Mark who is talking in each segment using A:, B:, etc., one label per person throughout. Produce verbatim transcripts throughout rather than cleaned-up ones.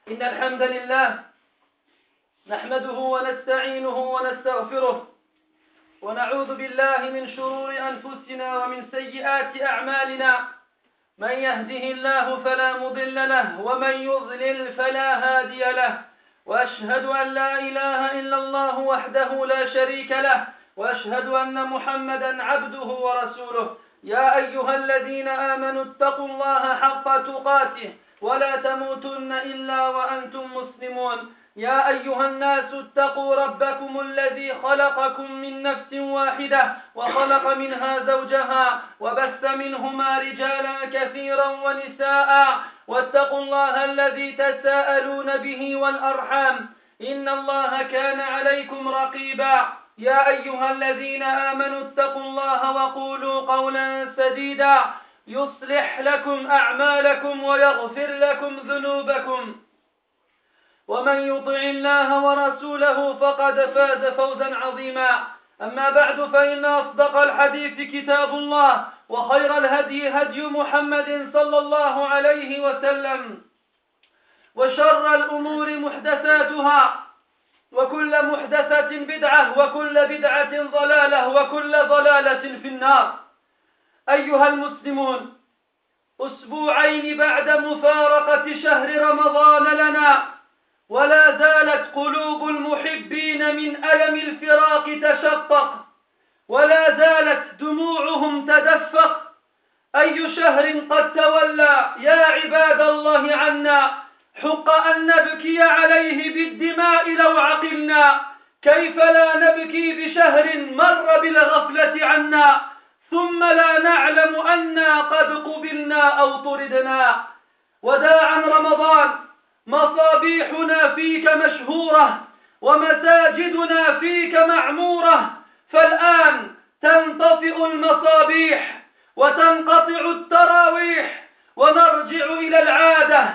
A: إن الحمد لله نحمده ونستعينه ونستغفره ونعوذ بالله من شرور أنفسنا ومن سيئات أعمالنا. من يهده الله فلا مضل له ومن يضلل فلا هادي له، وأشهد أن لا إله إلا الله وحده لا شريك له، وأشهد أن محمدا عبده ورسوله. يا أيها الذين آمنوا اتقوا الله حق تقاته ولا تموتن إلا وأنتم مسلمون. يا أيها الناس اتقوا ربكم الذي خلقكم من نفس واحدة وخلق منها زوجها وبث منهما رجالا كثيرا ونساء، واتقوا الله الذي تساءلون به والأرحام إن الله كان عليكم رقيبا. يا أيها الذين آمنوا اتقوا الله وقولوا قولا سديدا يصلح لكم أعمالكم ويغفر لكم ذنوبكم، ومن يطع الله ورسوله فقد فاز فوزا عظيما. أما بعد، فإن أصدق الحديث كتاب الله، وخير الهدي هدي محمد صلى الله عليه وسلم، وشر الأمور محدثاتها، وكل محدثة بدعة، وكل بدعة ضلالة، وكل ضلالة في النار. أيها المسلمون، أسبوعين بعد مفارقة شهر رمضان لنا، ولا زالت قلوب المحبين من ألم الفراق تشقق، ولا زالت دموعهم تدفق. أي شهر قد تولى يا عباد الله عنا، حق أن نبكي عليه بالدماء لو عقلنا. كيف لا نبكي بشهر مر بالغفلة عنا، ثم لا نعلم أنا قد قبلنا أو طردنا. وداعا رمضان، مصابيحنا فيك مشهورة ومساجدنا فيك معمورة، فالآن تنطفئ المصابيح وتنقطع التراويح ونرجع إلى العادة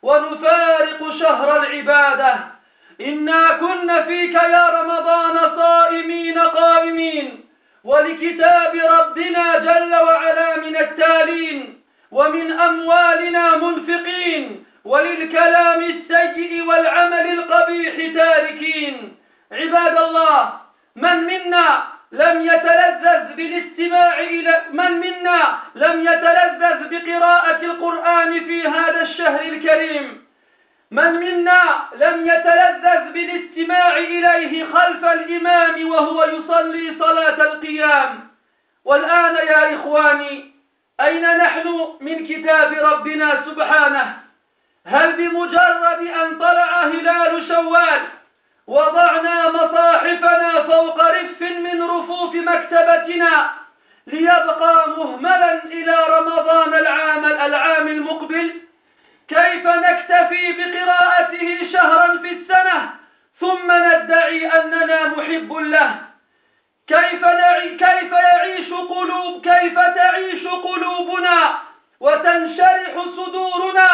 A: ونفارق شهر العبادة. إنا كنا فيك يا رمضان صائمين قائمين، ولكتاب ربنا جل وعلا من التالين، ومن أموالنا منفقين، وللكلام السيء والعمل القبيح تاركين. عباد الله، من منا لم يتلذذ بالاستماع إلى من منا لم يتلذذ بقراءة القرآن في هذا الشهر الكريم؟ من منا لم يتلذذ بالاستماع إليه خلف الإمام وهو يصلي صلاة القيام؟ والآن يا إخواني، أين نحن من كتاب ربنا سبحانه؟ هل بمجرد أن طلع هلال شوال وضعنا مصاحفنا فوق رف من رفوف مكتبتنا ليبقى مهملا إلى رمضان العام العام المقبل؟ كيف نكتفي بقراءته شهرا في السنة ثم ندعي أننا محب له؟ كيف نعي كيف يعيش قلوب كيف تعيش قلوبنا وتنشرح صدورنا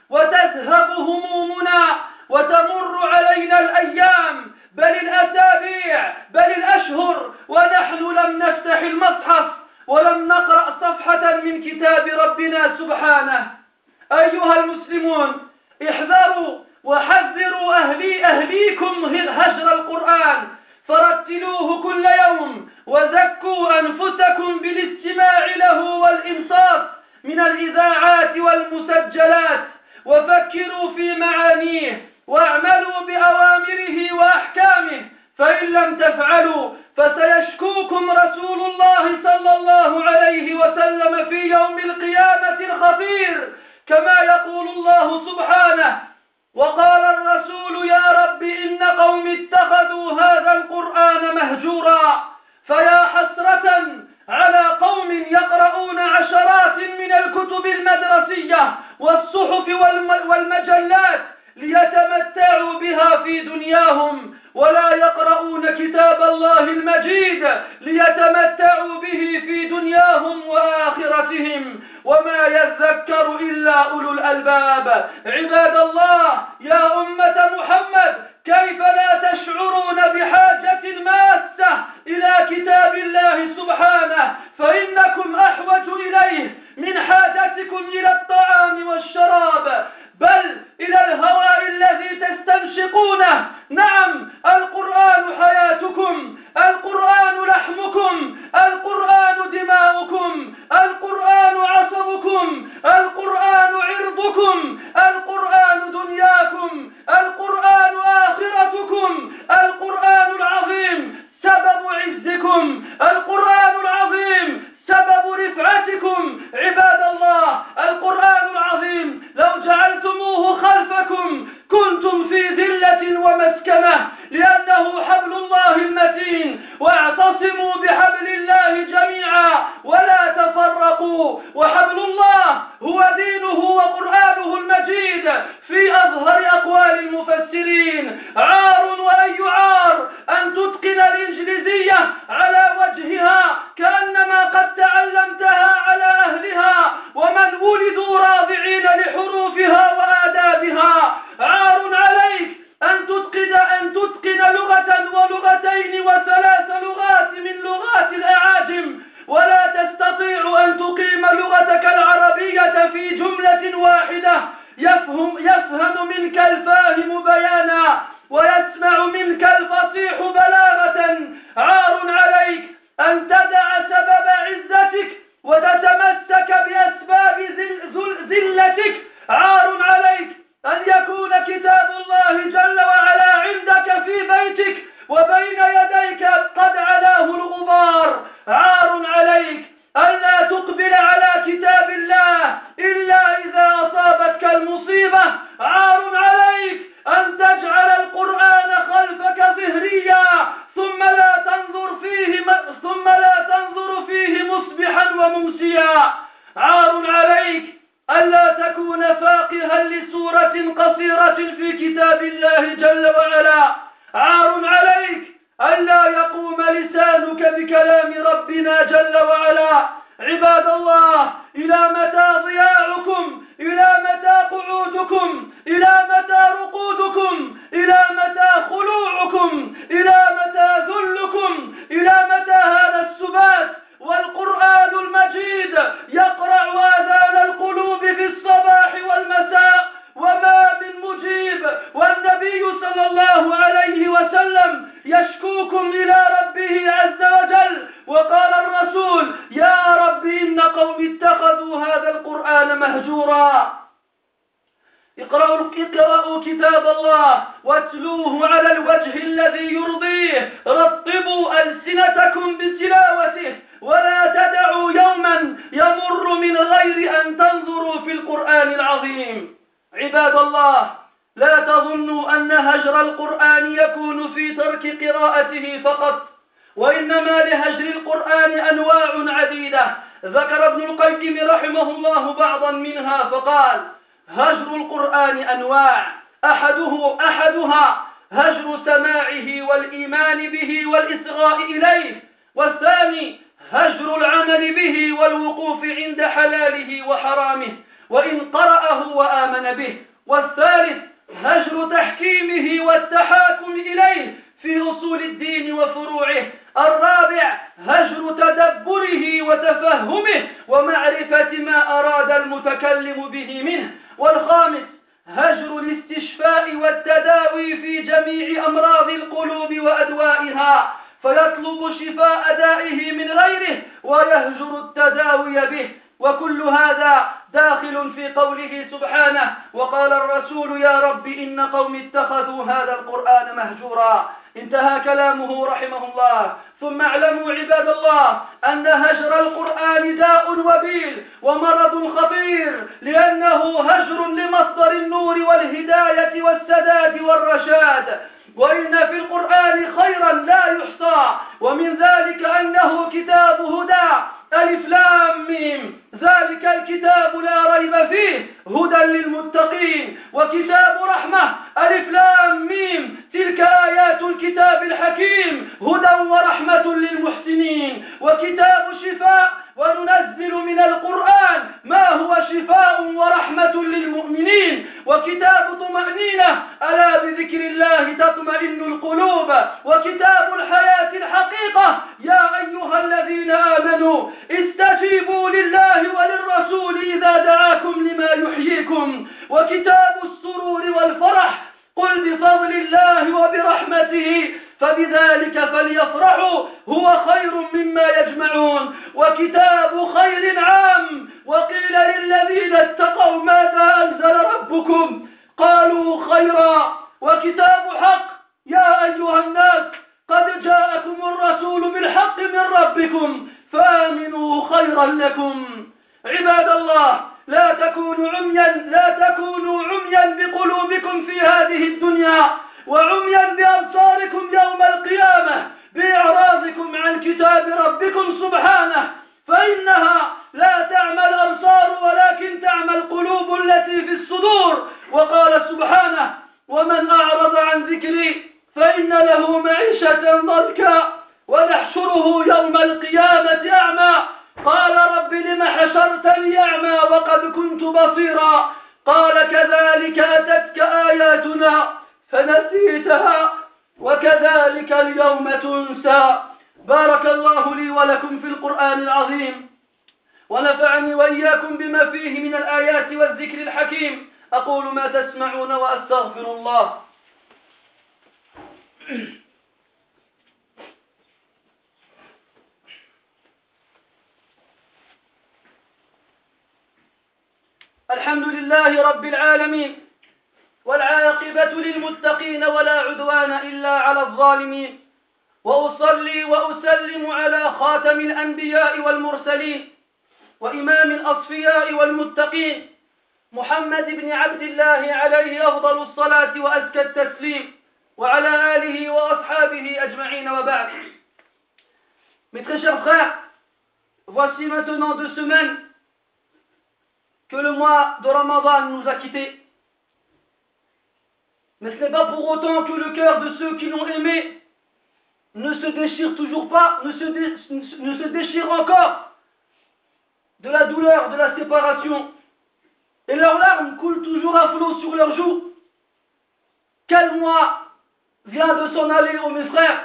A: وتذهب همومنا وتمر علينا الأيام بل الأسابيع بل الأشهر ونحن لم نفتح المصحف ولم نقرأ صفحة من كتاب ربنا سبحانه؟ أيها المسلمون، احذروا وحذروا أهلي أهليكم هجر القرآن، فرتلوه كل يوم، وزكوا أنفسكم بالاستماع له والإنصات من الإذاعات والمسجلات، وفكروا في معانيه واعملوا بأوامره وأحكامه، فإن لم تفعلوا فسيشكوكم رسول الله صلى الله عليه وسلم في يوم القيامة الخطير، كما يقول الله سبحانه: وقال الرسول يا رب إن قوم اتخذوا هذا القرآن مهجورا. فيا حسرة على قوم يقرؤون عشرات من الكتب المدرسية والصحف والمجلات ليتمتعوا بها في دنياهم، ولا يقرؤون كتاب الله المجيد ليتمتعوا به في دنياهم وآخرتهم، وما يذكر إلا أولو الألباب. عباد الله، يا أمة محمد، كيف لا تشعرون بحاجة ماسة إلى كتاب الله سبحانه؟ فإنكم أحوج إليه من حاجتكم إلى الطعام والشراب، بل إلى الهواء الذي تنشقونه. نعم، القرآن حياتكم، القرآن لحمكم، القرآن دماؤكم، القرآن عصبكم، القرآن عرضكم، القرآن دنياكم، القرآن آخرتكم، القرآن العظيم سبب عزكم، القرآن العظيم سبب رفعتكم. عباد الله، القرآن العظيم لو جعلتموه خلفكم كنتم في ذلة ومسكنة، لأنه حبل الله المتين. واعتصموا بحبل الله جميعا ولا تفرقوا. وحبل الله هو دينه وقرآنه المجيد في أظهر أقوال المفسرين. عار وأي عار أن تتقن الإنجليزية على وجهها كأنما قد تعلمتها على أهلها، ومن ولدوا راضعين لحروفها وآدابها. عار عليك أن تتقن أن تتقن لغة ولغتين وثلاث لغات من لغات الأعاجم، ولا تستطيع أن تقيم لغتك العربية في جملة واحدة يفهم يفهم منك الفاهم بيانا ويسمع منك الفصيح بلاغة. عار عليك أن تدع سبب عزتك وتتمسك بأسباب ذلتك. عار عليك أن يكون كتاب الله جل وعلا عندك في بيتك وبين يديك قد علاه الغبار. عار عليك ألا تقبل على كتاب الله إلا إذا أصابتك المصيبة. عار عليك أن تجعل القرآن خلفك ظهريا ثم لا تنظر فيه ثم لا تنظر فيه مصبحا وممسيا. عار عليك ألا تكون فاقها لسورة قصيرة في كتاب الله جل وعلا. عار عليك ألا يقوم لسانك بكلام ربنا جل وعلا. عباد الله، إلى متى ضياعكم؟ إلى متى قعودكم؟ إلى متى رقودكم؟ إلى متى خلوعكم؟ إلى متى ذلكم؟ إلى متى هذا السبات؟ والقرآن المجيد يقرع آذان القلوب في الصباح والمساء وما من مجيب، والنبي صلى الله عليه وسلم يشكوكم إلى ربه عز وجل. وقال الرسول: يا رب إن قوم اتخذوا هذا القرآن مهجورا. اقرأوا اقرأوا كتاب الله واتلوه على الوجه الذي يرضيه. رطبوا ألسنتكم بتلاوته ولا تدعوا يوما يمر من غير أن تنظروا في القرآن العظيم. عباد الله، لا تظنوا أن هجر القرآن يكون في ترك قراءته فقط، وإنما لهجر القرآن أنواع عديدة. ذكر ابن القيم رحمه الله بعضا منها فقال: هجر القرآن أنواع، أحده أحدها هجر سماعه والإيمان به والإصغاء إليه، والثاني هجر العمل به والوقوف عند حلاله وحرامه وإن قرأه وآمن به، والثالث هجر تحكيمه والتحاكم إليه في أصول الدين وفروعه، الرابع هجر تدبره وتفهمه ومعرفة ما أراد المتكلم به منه، والخامس هجر الاستشفاء والتداوي في جميع أمراض القلوب وأدوائها، فيطلب شفاء دائه من غيره ويهجر التداوي به. وكل هذا داخل في قوله سبحانه: وقال الرسول يا رب إن قوم اتخذوا هذا القرآن مهجورا. انتهى كلامه رحمه الله. ثم اعلموا عباد الله أن هجر القرآن داء وبيل ومرض خطير، لأنه هجر لمصدر النور والهداية والسداد والرشاد. وإن في القرآن خيرا لا يحصى، ومن ذلك أنه كتاب هدى، ألف لام ميم، ذلك الكتاب لا ريب فيه هدى للمتقين. وكتاب رحمة، ألف لام ميم، تلك آيات الكتاب الحكيم هدى ورحمة للمحسنين. وكتاب شفاء، وننزل من القرآن ما هو شفاء ورحمة للمؤمنين. وكتاب طمأنينة، ألا بذكر الله تطمئن القلوب. وكتاب الحياة الحقيقة، يا أيها الذين آمنوا استجيبوا لله وللرسول إذا دعاكم لما يحييكم. وكتاب السرور والفرح، قل بفضل برحمته فبذلك فليفرحوا هو خير مما يجمعون. وكتاب خير عام. وقيل للذين اتقوا ماذا أنزل ربكم قالوا خيرا. وكتاب حق يا أيها الناس قد جاءكم الرسول بالحق من ربكم فآمنوا خيرا لكم. عباد الله لا تكونوا عميا لا تكونوا عميا بقلوبكم في هذه الدنيا وعميا بأبصاركم يوم القيامة بإعراضكم عن كتاب ربكم سبحانه، فإنها لا تعمى الأبصار ولكن تعمى القلوب التي في الصدور. وقال سبحانه ومن أعرض عن ذكري فإن له معيشة ضنكا ونحشره يوم القيامة أعمى قال رب لم حشرتني أعمى وقد كنت بصيرا قال كذلك أتتك آياتنا فنسيتها وكذلك اليوم تنسى. بارك الله لي ولكم في القرآن العظيم ونفعني وإياكم بما فيه من الآيات والذكر الحكيم. أقول ما تسمعون وأستغفر الله. الحمد لله رب العالمين والعاقبة للمتقين ولا عدوان إلا على الظالمين. وأصلي وأسلم على خاتم الأنبياء والمرسلين وإمام الأصفياء والمتقين محمد بن عبد الله عليه أفضل الصلاة وأزكى التسليم وعلى آله وأصحابه أجمعين وبعد. Mes très chers frères, voici maintenant deux semaines que le mois de Ramadan nous a quittés. Mais ce n'est pas pour autant que le cœur de ceux qui l'ont aimé ne se déchire toujours pas, ne se, dé, ne se déchire encore de la douleur de la séparation. Et leurs larmes coulent toujours à flot sur leurs joues. Quel mois vient de s'en aller, ô mes frères.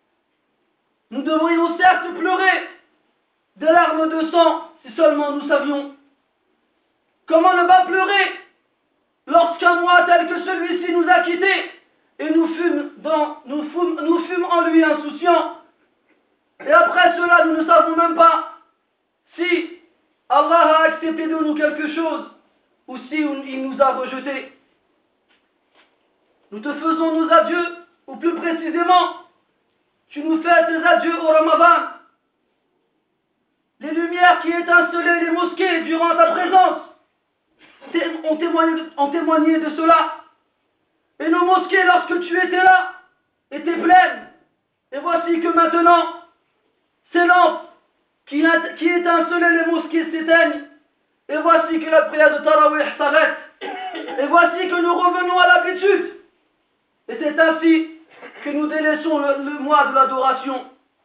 A: Nous devrions certes pleurer des larmes de sang si seulement nous savions. Comment ne pas pleurer lorsqu'un mois tel que celui-ci nous a quittés et nous fûmes, dans, nous, fûmes, nous fûmes en lui insouciants. Et après cela, nous ne savons même pas si Allah a accepté de nous quelque chose ou si il nous a rejetés. Nous te faisons nos adieux, ou plus précisément, tu nous fais tes adieux au Ramadan. Les lumières qui étincelaient les mosquées durant ta présence ont témoigné, ont témoigné de cela. Et nos mosquées, lorsque tu étais là, étaient pleines. Et voici que maintenant, ces lampes qui, qui étincelaient les mosquées s'éteignent. Et voici que la prière de Tarawih s'arrête. Et voici que nous revenons à l'habitude. Et c'est ainsi que nous délaissons le, le mois de l'adoration.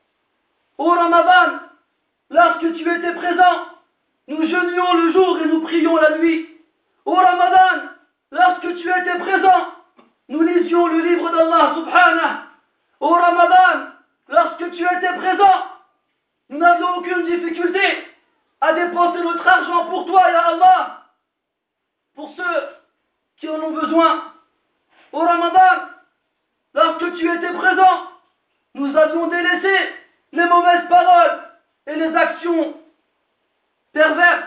A: Au Ramadan, lorsque tu étais présent, nous jeûnions le jour et nous prions la nuit. Au Ramadan, lorsque tu étais présent, nous lisions le livre d'Allah subhanahu. Au Ramadan, lorsque tu étais présent, nous n'avions aucune difficulté à dépenser notre argent pour toi, ya Allah, pour ceux qui en ont besoin. Au Ramadan, lorsque tu étais présent, nous avions délaissé les mauvaises paroles et les actions perverses.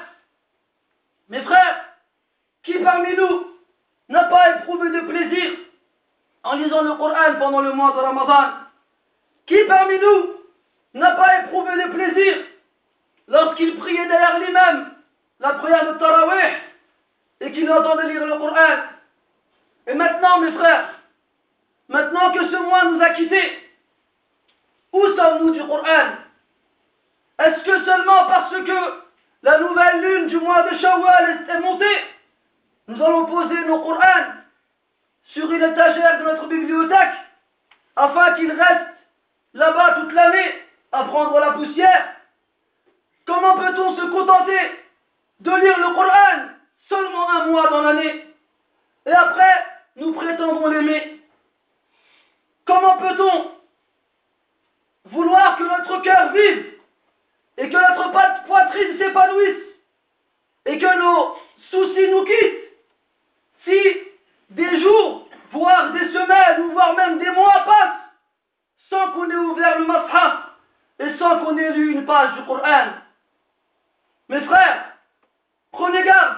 A: Mes frères, qui parmi nous n'a pas éprouvé de plaisir en lisant le Coran pendant le mois de Ramadan? Qui parmi nous n'a pas éprouvé de plaisir lorsqu'il priait derrière lui-même la prière de Tarawih et qu'il entendait lire le Coran? Et maintenant, mes frères, maintenant que ce mois nous a quittés, où sommes-nous du Coran? Est-ce que seulement parce que la nouvelle lune du mois de Shawwal est montée, nous allons poser nos Corans sur une étagère de notre bibliothèque afin qu'ils restent là-bas toute l'année à prendre la poussière? Comment peut-on se contenter de lire le Coran seulement un mois dans l'année et après nous prétendons l'aimer? Comment peut-on vouloir que notre cœur vive et que notre poitrine s'épanouisse et que nos soucis nous quittent si des jours, voire des semaines ou voire même des mois passent qu'on ait lu une page du Coran. Mes frères, prenez garde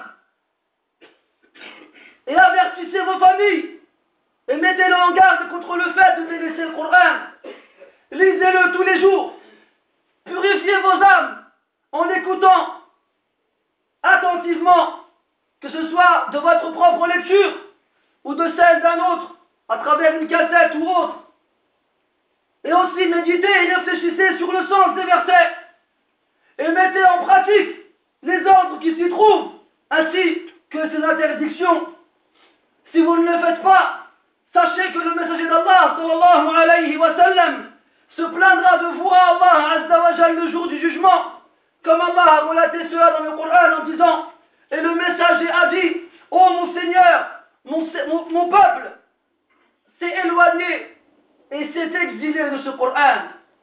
A: et avertissez vos familles et mettez-le en garde contre le fait de délaisser le Coran. Lisez-le tous les jours. Purifiez vos âmes en écoutant attentivement, que ce soit de votre propre lecture ou de celle d'un autre, à travers une cassette ou autre. Et aussi méditez et réfléchissez sur le sens des versets et mettez en pratique les ordres qui s'y trouvent, ainsi que ses interdictions. Si vous ne le faites pas, sachez que le messager d'Allah, sallallahu alayhi wa sallam, se plaindra de vous à Allah azza wa jal le jour du jugement, comme Allah a relaté cela dans le Coran en disant: et le messager a dit: ô mon Seigneur, mon, mon, mon peuple s'est éloigné et s'est exilé de ce Coran.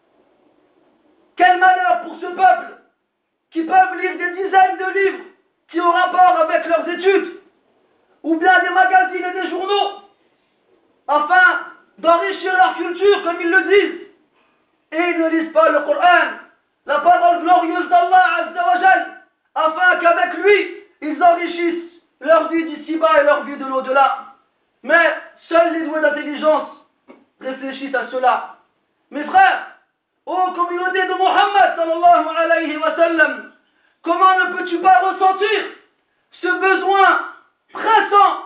A: Quel malheur pour ce peuple qui peuvent lire des dizaines de livres qui ont rapport avec leurs études, ou bien des magazines et des journaux, afin d'enrichir leur culture, comme ils le disent, et ils ne lisent pas le Coran, la parole glorieuse d'Allah azza wa jal, afin qu'avec lui, ils enrichissent leur vie d'ici-bas et leur vie de l'au-delà. Mais seuls les doués d'intelligence réfléchissent à cela. Mes frères, ô communauté de Muhammad sallallahu alayhi wa sallam, comment ne peux-tu pas ressentir ce besoin pressant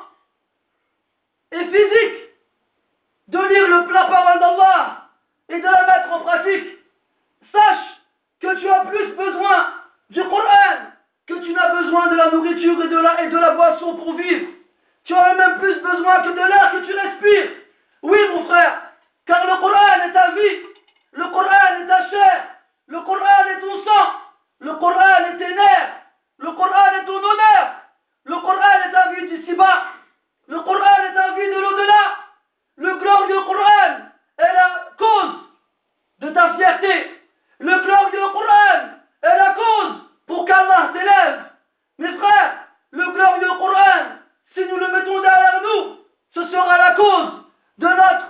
A: et physique de lire le, la parole d'Allah et de la mettre en pratique? Sache que tu as plus besoin du Coran que tu n'as besoin de la nourriture et de la, et de la boisson pour vivre. Tu as même plus besoin que de l'air que tu respires. Oui, mon frère, car le Coran est ta vie, le Coran est ta chair, le Coran est ton sang, le Coran est tes nerfs, le Coran est ton honneur, le Coran est ta vie d'ici-bas, le Coran est ta vie de l'au-delà. Le glorieux Coran est la cause de ta fierté. Le glorieux Coran est la cause pour qu'Allah t'élève. Mes frères, le glorieux Coran, si nous le mettons derrière nous, ce sera la cause de notre,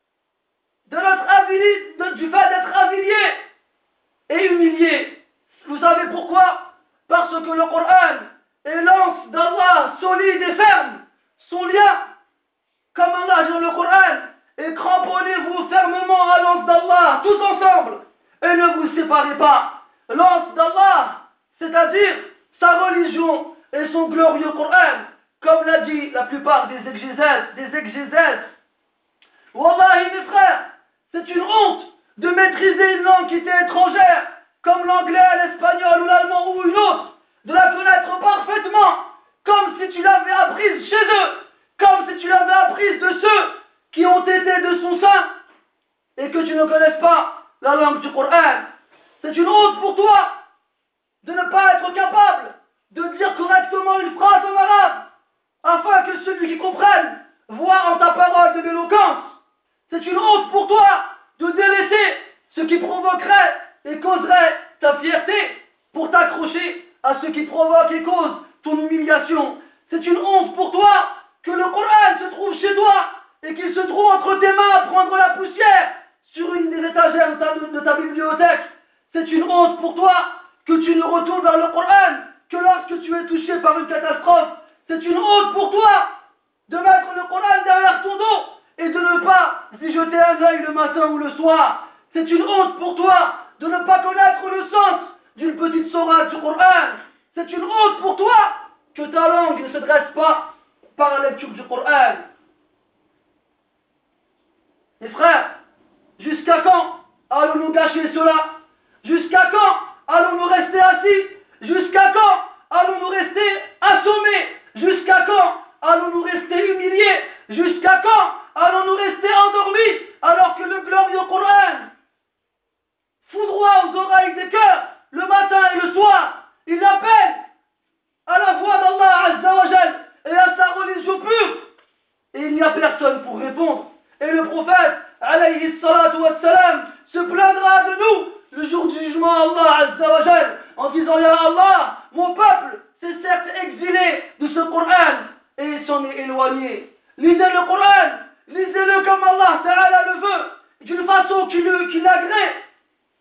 A: de notre avili, de, du fait d'être affilié et humilié. Vous savez pourquoi? Parce que le Coran est l'anse d'Allah solide et ferme. Son lien, comme Allah dit dans le Coran, et cramponnez-vous fermement à l'anse d'Allah, tous ensemble, et ne vous séparez pas. L'anse d'Allah, c'est-à-dire sa religion et son glorieux Coran, comme l'a dit la plupart des exégèses, des exégèses. Wallahi, mes frères, c'est une honte de maîtriser une langue qui t'est étrangère, comme l'anglais, l'espagnol ou l'allemand ou une autre, de la connaître parfaitement, comme si tu l'avais apprise chez eux, comme si tu l'avais apprise de ceux qui ont été de son sein, et que tu ne connaisses pas la langue du Coran. C'est une honte pour toi de ne pas être capable de dire correctement une phrase en arabe, afin que celui qui comprenne voit en ta parole de l'éloquence. C'est une honte pour toi de délaisser ce qui provoquerait et causerait ta fierté pour t'accrocher à ce qui provoque et cause ton humiliation. C'est une honte pour toi que le Coran se trouve chez toi et qu'il se trouve entre tes mains à prendre la poussière sur une des étagères de ta, de ta bibliothèque. C'est une honte pour toi que tu ne retournes vers le Coran que lorsque tu es touché par une catastrophe. C'est une honte pour toi de mettre le Coran derrière ton dos et de ne pas y jeter un œil le matin ou le soir. C'est une honte pour toi de ne pas connaître le sens d'une petite sourate du Coran. C'est une honte pour toi que ta langue ne se dresse pas par la lecture du Coran. Mes frères, jusqu'à quand allons-nous gâcher cela? Jusqu'à quand allons-nous rester assis? Jusqu'à quand allons-nous rester assommés? Jusqu'à quand allons-nous rester humiliés? Jusqu'à quand allons-nous rester endormis alors que le glorieux Coran foudroie aux oreilles des cœurs le matin et le soir? Il appelle à la voix d'Allah Azza wa Jal et à sa religion pure. Et il n'y a personne pour répondre. Et le prophète, alayhi salatu wassalam, se plaindra de nous le jour du jugement à Allah Azza wa Jal en disant: Ya Allah, mon peuple s'est certes exilé de ce Coran et s'en est éloigné. Lisez le Coran, lisez-le comme Allah Ta'ala le veut, d'une façon qui l'agrée,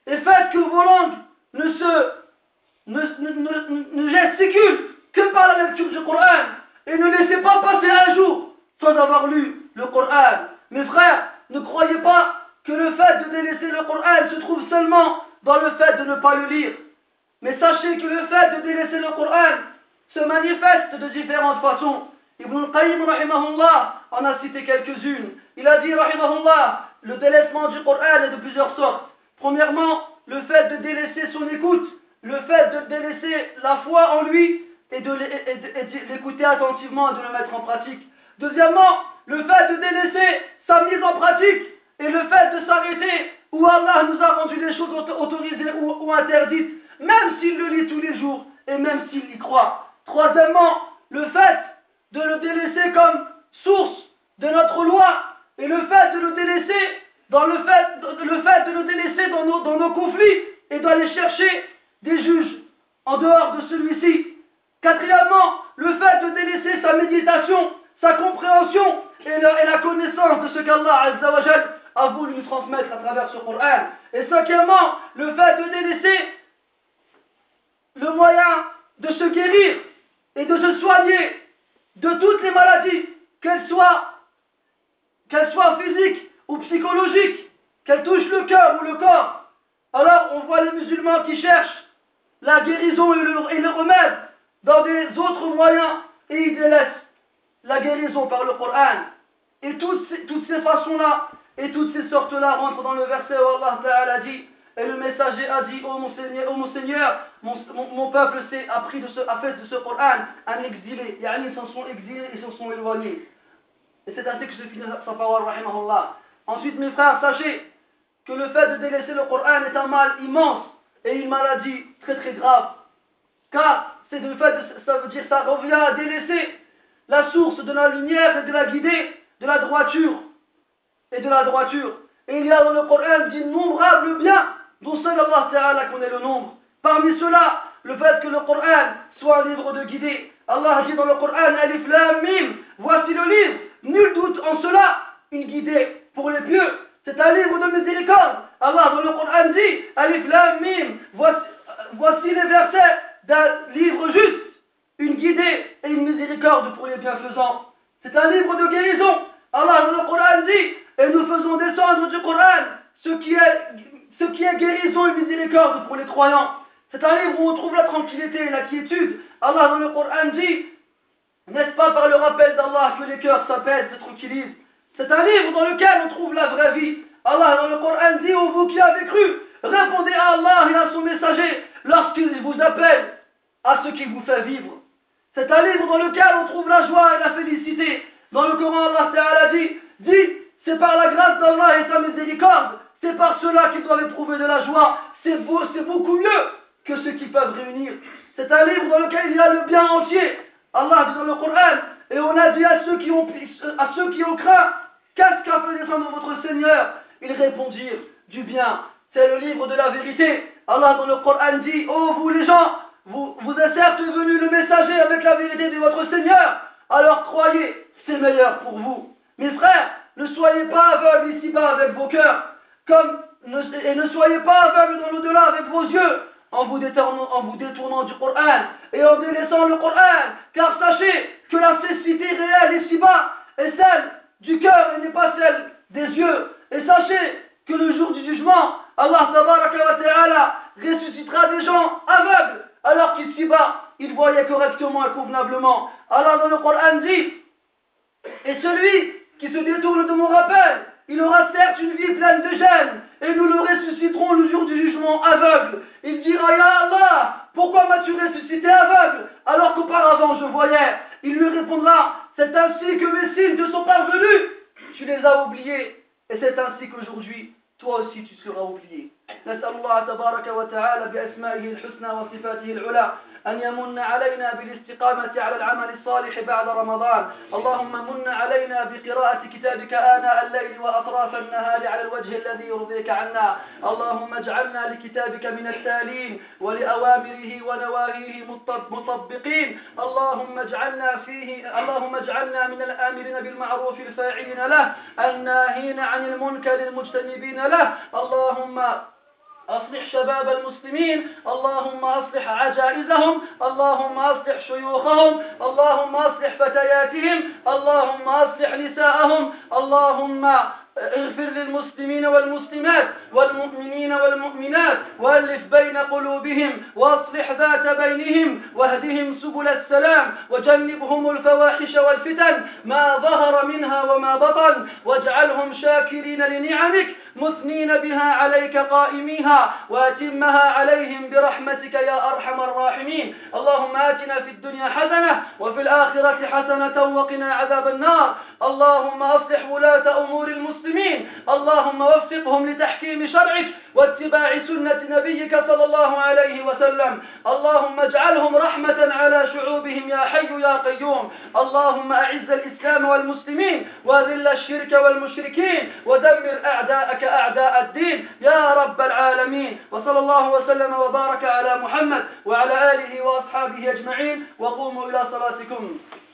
A: et faites que vos langues ne se ne, ne, ne, ne gesticulent que par la lecture du Coran, et ne laissez pas passer un jour sans avoir lu le Coran. Mes frères, ne croyez pas que le fait de délaisser le Coran se trouve seulement dans le fait de ne pas le lire. Mais sachez que le fait de délaisser le Coran se manifeste de différentes façons. Ibn al-Qayyim rahimahullah en a cité quelques-unes. Il a dit rahimahullah, le délaissement du Coran est de plusieurs sortes. Premièrement, le fait de délaisser son écoute, le fait de délaisser la foi en lui et de l'écouter attentivement et de le mettre en pratique. Deuxièmement, le fait de délaisser sa mise en pratique et le fait de s'arrêter où Allah nous a rendu les choses autorisées ou, ou interdites, même s'il le lit tous les jours et même s'il y croit. Troisièmement, le fait de le délaisser comme source de notre loi et le fait de le délaisser dans le fait, le fait de le délaisser dans nos, dans nos conflits et d'aller chercher des juges en dehors de celui-ci. Quatrièmement, le fait de délaisser sa méditation, sa compréhension et la, et la connaissance de ce qu'Allah Azza wa Jal a voulu nous transmettre à travers ce Coran. Et cinquièmement, le fait de délaisser le moyen de se guérir et de se soigner de toutes les maladies, qu'elles soient, qu'elles soient physiques ou psychologiques, qu'elles touchent le cœur ou le corps. Alors on voit les musulmans qui cherchent la guérison et le, et le remède dans des autres moyens et ils délaissent la guérison par le Coran. Et toutes ces, toutes ces façons-là et toutes ces sortes-là rentrent dans le verset où Allah Ta'ala dit, et le messager a dit, ô oh mon Seigneur, oh mon, Seigneur mon, mon, mon peuple s'est appris de ce, a fait de ce Coran un exilé. Yani, ils s'en sont exilés, ils s'en sont éloignés. Et c'est ainsi que se finit sa parole, rahimahullah. Ensuite, mes frères, sachez que le fait de délaisser le Coran est un mal immense et une maladie très très grave. Car c'est le fait de, ça veut dire ça revient à délaisser la source de la lumière et de la guidée, de la droiture et de la droiture. Et il y a dans le Coran d'innombrables biens dont seul Allah Ta'ala connaît le nombre. Parmi ceux-là, le fait que le Coran soit un livre de guidée. Allah dit dans le Coran, Alif Lam Mim, voici le livre, nul doute en cela, une guidée pour les pieux. C'est un livre de miséricorde. Allah dans le Coran dit, Alif Lam Mim, voici, voici les versets d'un livre juste, une guidée et une miséricorde pour les bienfaisants. C'est un livre de guérison. Allah dans le Coran dit, et nous faisons descendre du Coran ce qui est, ce qui est guérison et miséricorde pour les croyants. C'est un livre où on trouve la tranquillité et la quiétude. Allah dans le Coran dit, n'est-ce pas par le rappel d'Allah que les cœurs s'apaisent, se tranquillisent. C'est un livre dans lequel on trouve la vraie vie. Allah dans le Coran dit, ô vous qui avez cru, répondez à Allah et à son messager lorsqu'il vous appelle à ce qui vous fait vivre. C'est un livre dans lequel on trouve la joie et la félicité. Dans le Coran, Allah Ta'ala dit, dit, c'est par la grâce d'Allah et sa miséricorde, c'est par cela qu'ils doivent éprouver de la joie. C'est beau, c'est beaucoup mieux que ceux qui peuvent réunir. C'est un livre dans lequel il y a le bien entier. Allah dit dans le Coran, et on a dit à ceux qui ont, à ceux qui ont craint, qu'est-ce qu'a fait descendre votre Seigneur? Ils répondirent, du bien. C'est le livre de la vérité. Allah dans le Coran dit, oh vous les gens, vous, vous est certes venu le messager avec la vérité de votre Seigneur, alors croyez, c'est meilleur pour vous. Mes frères, ne soyez pas aveugles ici-bas avec vos cœurs, comme, ne, et ne soyez pas aveugles dans l'au-delà avec vos yeux, en vous, détournant, en vous détournant du Coran et en délaissant le Coran, car sachez que la cécité réelle ici-bas est celle du cœur et n'est pas celle des yeux. Et sachez que le jour du jugement, Allah Tabaraka wa Ta'ala ressuscitera des gens aveugles, alors qu'ici-bas, ils voyaient correctement et convenablement. Allah dans le Coran dit, et celui qui se détourne de mon rappel, il aura certes une vie pleine de gêne, et nous le ressusciterons le jour du jugement aveugle. Il dira, Ya Allah, pourquoi m'as-tu ressuscité aveugle, alors qu'auparavant je voyais? Il lui répondra, c'est ainsi que mes signes te sont parvenus, tu les as oubliés, et c'est ainsi qu'aujourd'hui, toi aussi tu seras oublié. نسأل الله تبارك وتعالى بأسمائه الحسنى وصفاته العلى أن يمن علينا بالاستقامة على العمل الصالح بعد رمضان. اللهم من علينا بقراءة كتابك آناء الليل وأطراف النهار على الوجه الذي يرضيك عنا. اللهم اجعلنا لكتابك من التالين ولأوامره ونواهيه مطبقين. اللهم اجعلنا فيه اللهم اجعلنا من الآمرين بالمعروف الفاعلين له الناهين عن المنكر المجتنبين له. اللهم أصلح شباب المسلمين، اللهم أصلح عجائزهم، اللهم أصلح شيوخهم، اللهم أصلح فتياتهم، اللهم أصلح نساءهم، اللهم اغفر للمسلمين والمسلمات والمؤمنين والمؤمنات وألف بين قلوبهم وأصلح ذات بينهم واهدهم سبل السلام وجنبهم الفواحش والفتن ما ظهر منها وما بطن، واجعلهم شاكرين لنعمك مثنين بها عليك قائميها وأتمها عليهم برحمتك يا أرحم الراحمين. اللهم آتنا في الدنيا حسنة وفي الآخرة حسنة وقنا عذاب النار. اللهم أصلح ولاة أمور المسلمين، اللهم وفقهم لتحكيم شرعك واتباع سنة نبيك صلى الله عليه وسلم. اللهم اجعلهم رحمة على شعوبهم يا حي يا قيوم. اللهم أعز الإسلام والمسلمين وذل الشرك والمشركين ودمر أعداءك أعداء الدين يا رب العالمين. وصلى الله وسلم وبارك على محمد وعلى آله وأصحابه أجمعين، وقوموا إلى صلاتكم.